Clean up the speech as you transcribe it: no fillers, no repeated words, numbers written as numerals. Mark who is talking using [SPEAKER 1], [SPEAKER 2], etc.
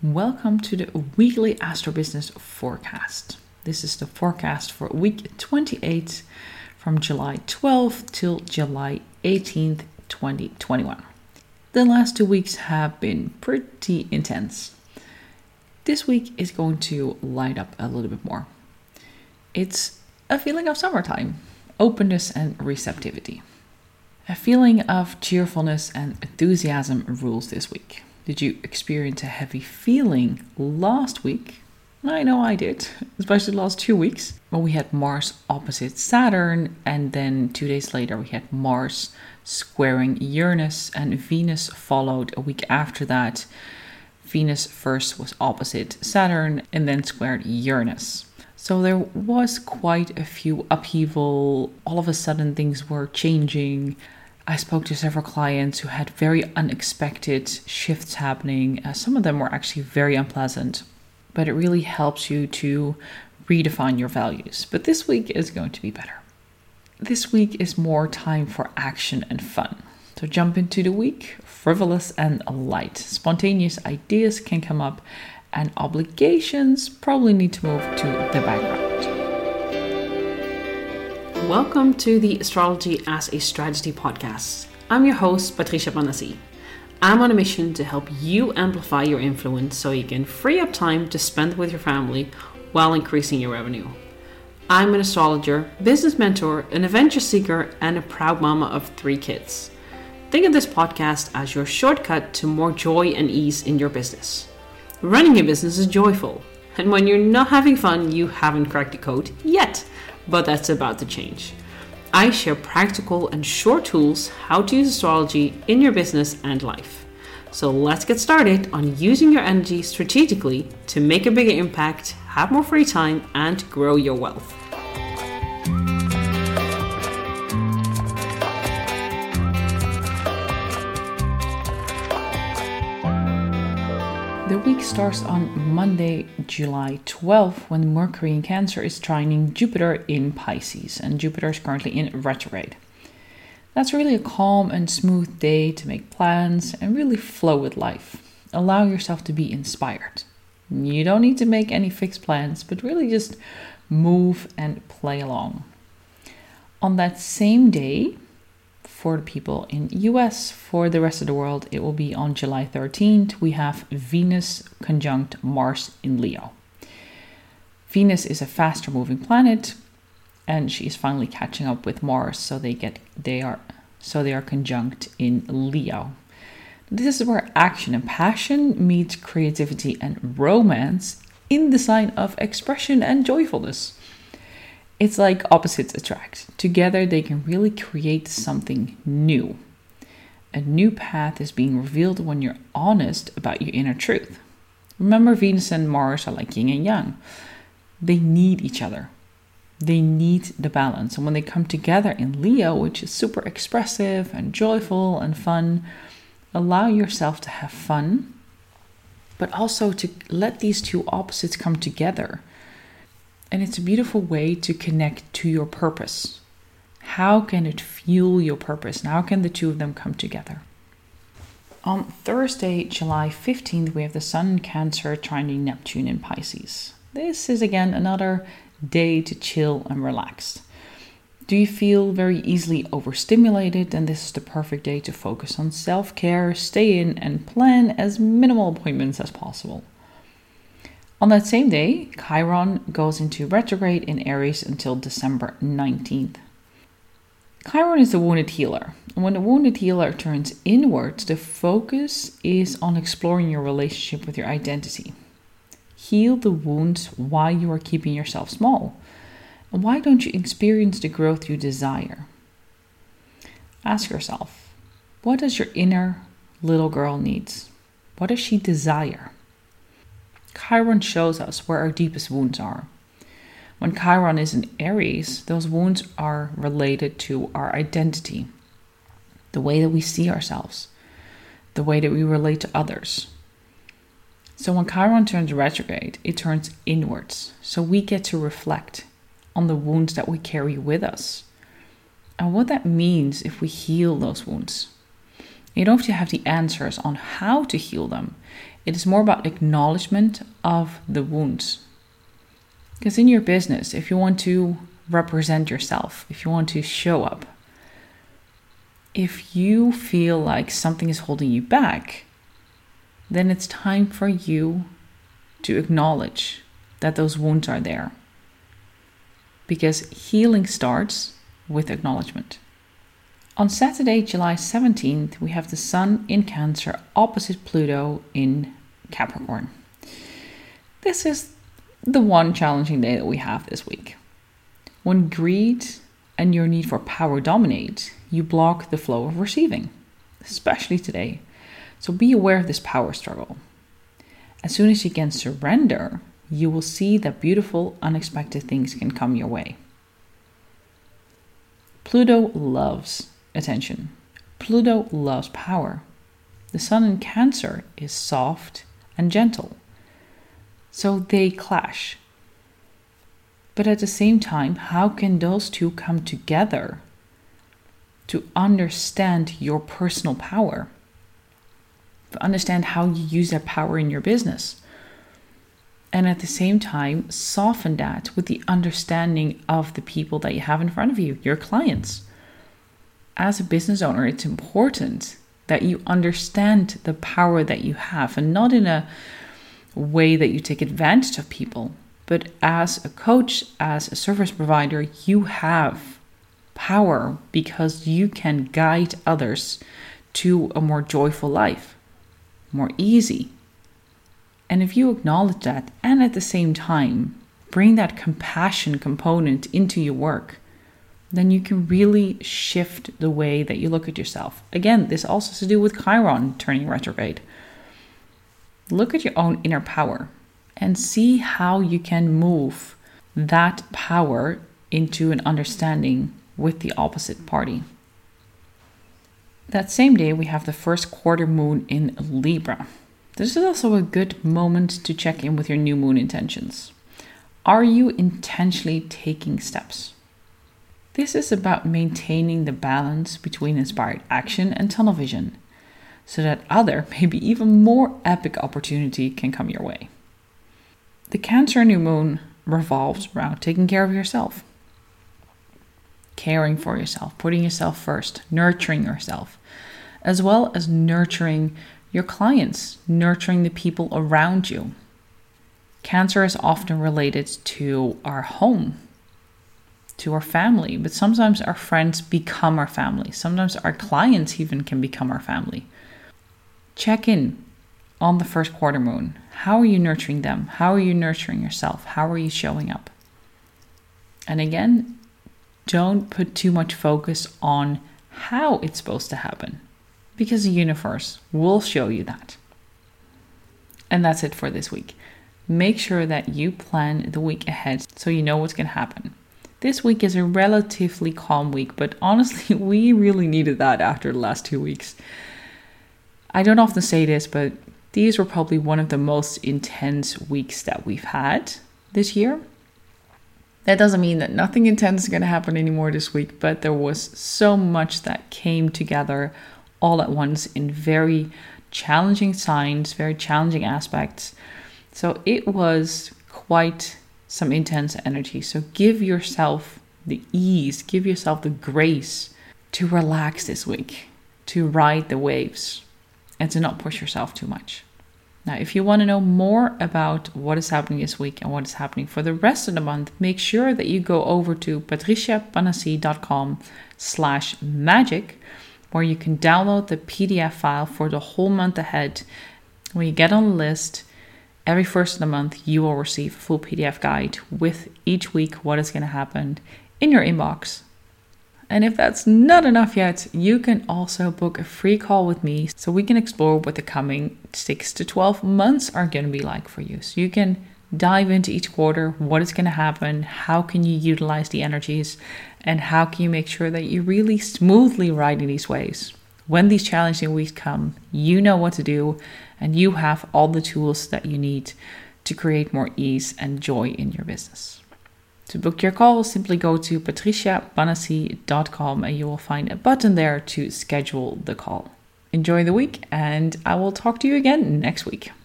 [SPEAKER 1] Welcome to the weekly Astro Business forecast. This is the forecast for week 28 from July 12th till July 18th, 2021. The last 2 weeks have been pretty intense. This week is going to light up a little bit more. It's a feeling of summertime, openness and receptivity. A feeling of cheerfulness and enthusiasm rules this week. Did you experience a heavy feeling last week? I know I did, especially the last 2 weeks. When we had Mars opposite Saturn, and then 2 days later we had Mars squaring Uranus, and Venus followed a week after that. Venus first was opposite Saturn and then squared Uranus. So there was quite a few upheaval. All of a sudden things were changing. I spoke to several clients who had very unexpected shifts happening. Some of them were actually very unpleasant, but it really helps you to redefine your values. But this week is going to be better. This week is more time for action and fun. So jump into the week, frivolous and light. Spontaneous ideas can come up and obligations probably need to move to the background.
[SPEAKER 2] Welcome to the Astrology as a Strategy podcast. I'm your host, Patricia Banassi. I'm on a mission to help you amplify your influence so you can free up time to spend with your family while increasing your revenue. I'm an astrologer, business mentor, an adventure seeker, and a proud mama of 3 kids. Think of this podcast as your shortcut to more joy and ease in your business. Running a business is joyful, and when you're not having fun, you haven't cracked the code yet. But that's about to change. I share practical and short tools how to use astrology in your business and life. So let's get started on using your energy strategically to make a bigger impact, have more free time, and grow your wealth.
[SPEAKER 1] The week starts on Monday, July 12th, when Mercury in Cancer is trining Jupiter in Pisces, and Jupiter is currently in retrograde. That's really a calm and smooth day to make plans and really flow with life. Allow yourself to be inspired. You don't need to make any fixed plans, but really just move and play along. On that same day, for the people in US, for the rest of the world, it will be on July 13th. We have Venus conjunct Mars in Leo. Venus is a faster moving planet, and she is finally catching up with Mars, so they are conjunct in Leo. This is where action and passion meet creativity and romance in the sign of expression and joyfulness. It's like opposites attract. Together, they can really create something new. A new path is being revealed when you're honest about your inner truth. Remember, Venus and Mars are like yin and yang. They need each other. They need the balance. And when they come together in Leo, which is super expressive and joyful and fun, allow yourself to have fun, but also to let these two opposites come together. And it's a beautiful way to connect to your purpose. How can it fuel your purpose? And how can the two of them come together? On Thursday, July 15th, we have the Sun in Cancer trining Neptune in Pisces. This is again another day to chill and relax. Do you feel very easily overstimulated? Then this is the perfect day to focus on self-care, stay in, and plan as minimal appointments as possible. On that same day, Chiron goes into retrograde in Aries until December 19th. Chiron is the wounded healer. And when the wounded healer turns inwards, the focus is on exploring your relationship with your identity. Heal the wounds while you are keeping yourself small. And why don't you experience the growth you desire? Ask yourself, what does your inner little girl needs? What does she desire? Chiron shows us where our deepest wounds are. When Chiron is in Aries, those wounds are related to our identity, the way that we see ourselves, the way that we relate to others. So when Chiron turns retrograde, it turns inwards. So we get to reflect on the wounds that we carry with us and what that means if we heal those wounds. You don't have to have the answers on how to heal them. It is more about acknowledgement of the wounds. Because in your business, if you want to represent yourself, if you want to show up, if you feel like something is holding you back, then it's time for you to acknowledge that those wounds are there. Because healing starts with acknowledgement. On Saturday, July 17th, we have the Sun in Cancer opposite Pluto in Capricorn. This is the one challenging day that we have this week. When greed and your need for power dominate, you block the flow of receiving, especially today. So be aware of this power struggle. As soon as you can surrender, you will see that beautiful, unexpected things can come your way. Pluto loves attention. Pluto loves power. The Sun in Cancer is soft and gentle. So they clash. But at the same time, how can those two come together to understand your personal power? To understand how you use that power in your business. And at the same time, soften that with the understanding of the people that you have in front of you, your clients. As a business owner, it's important that you understand the power that you have, and not in a way that you take advantage of people. But as a coach, as a service provider, you have power because you can guide others to a more joyful life, more easy. And if you acknowledge that and at the same time bring that compassion component into your work, then you can really shift the way that you look at yourself. Again, this also has to do with Chiron turning retrograde. Look at your own inner power and see how you can move that power into an understanding with the opposite party. That same day, we have the first quarter moon in Libra. This is also a good moment to check in with your new moon intentions. Are you intentionally taking steps? This is about maintaining the balance between inspired action and tunnel vision, so that other, maybe even more epic opportunity can come your way. The Cancer new moon revolves around taking care of yourself, caring for yourself, putting yourself first, nurturing yourself, as well as nurturing your clients, nurturing the people around you. Cancer is often related to our home, to our family, but sometimes our friends become our family. Sometimes our clients even can become our family. Check in on the first quarter moon. How are you nurturing them? How are you nurturing yourself? How are you showing up? And again, don't put too much focus on how it's supposed to happen, because the universe will show you that. And that's it for this week. Make sure that you plan the week ahead so you know what's going to happen. This week is a relatively calm week, but honestly, we really needed that after the last 2 weeks. I don't often say this, but these were probably one of the most intense weeks that we've had this year. That doesn't mean that nothing intense is going to happen anymore this week, but there was so much that came together all at once in very challenging signs, very challenging aspects. So it was quite some intense energy. So give yourself the ease, give yourself the grace to relax this week, to ride the waves, and to not push yourself too much. Now, if you want to know more about what is happening this week and what is happening for the rest of the month, make sure that you go over to patriciapanassi.com/magic, where you can download the PDF file for the whole month ahead. When you get on the list, every first of the month, you will receive a full PDF guide with each week what is going to happen in your inbox. And if that's not enough yet, you can also book a free call with me so we can explore what the coming 6 to 12 months are going to be like for you. So you can dive into each quarter, what is going to happen, how can you utilize the energies, and how can you make sure that you really smoothly ride in these waves. When these challenging weeks come, you know what to do, and you have all the tools that you need to create more ease and joy in your business. To book your call, simply go to patriciapanassi.com and you will find a button there to schedule the call. Enjoy the week, and I will talk to you again next week.